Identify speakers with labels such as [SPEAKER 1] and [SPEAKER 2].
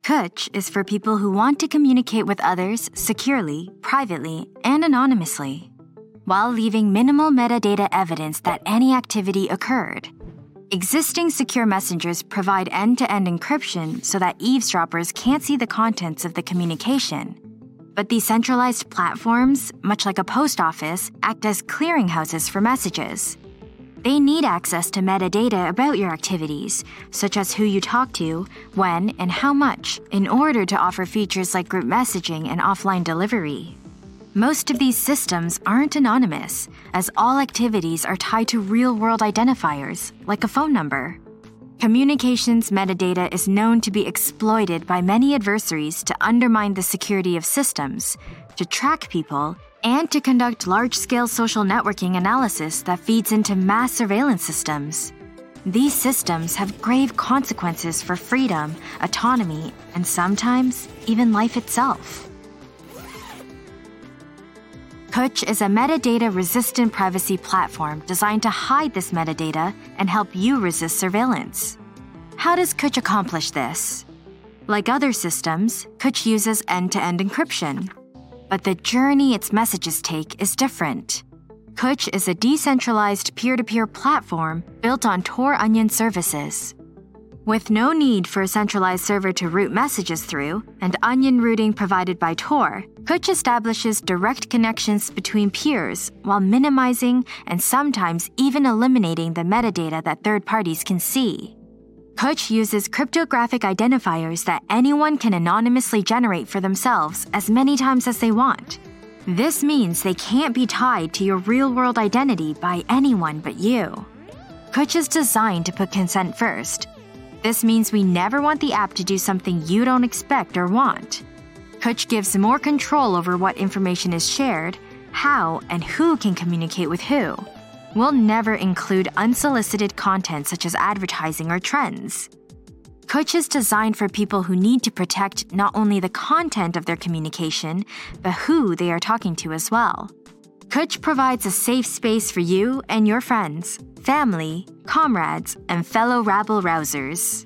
[SPEAKER 1] Kuch is for people who want to communicate with others securely, privately, and anonymously, while leaving minimal metadata evidence that any activity occurred. Existing secure messengers provide end-to-end encryption so that eavesdroppers can't see the contents of the communication. But these centralized platforms, much like a post office, act as clearinghouses for messages. They need access to metadata about your activities, such as who you talk to, when, and how much, in order to offer features like group messaging and offline delivery. Most of these systems aren't anonymous, as all activities are tied to real-world identifiers, like a phone number. Communications metadata is known to be exploited by many adversaries to undermine the security of systems, to track people, and to conduct large-scale social networking analysis that feeds into mass surveillance systems. These systems have grave consequences for freedom, autonomy, and sometimes even life itself. Kuch is a metadata-resistant privacy platform designed to hide this metadata and help you resist surveillance. How does Kuch accomplish this? Like other systems, Kuch uses end-to-end encryption. But the journey its messages take is different. Kuch is a decentralized peer-to-peer platform built on Tor Onion services. With no need for a centralized server to route messages through, and onion routing provided by Tor, Kuch establishes direct connections between peers while minimizing and sometimes even eliminating the metadata that third parties can see. Kuch uses cryptographic identifiers that anyone can anonymously generate for themselves as many times as they want. This means they can't be tied to your real-world identity by anyone but you. Kuch is designed to put consent first. This means we never want the app to do something you don't expect or want. Kuch gives more control over what information is shared, how and who can communicate with who. We'll never include unsolicited content such as advertising or trends. Kuch is designed for people who need to protect not only the content of their communication, but who they are talking to as well. Kuch provides a safe space for you and your friends, family, comrades, and fellow rabble-rousers.